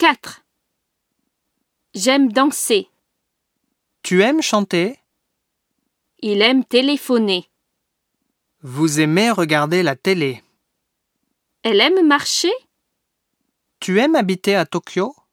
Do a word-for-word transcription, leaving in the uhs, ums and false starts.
quatre. J'aime danser. Tu aimes chanter? Il aime téléphoner. Vous aimez regarder la télé? Elle aime marcher? Tu aimes habiter à Tokyo?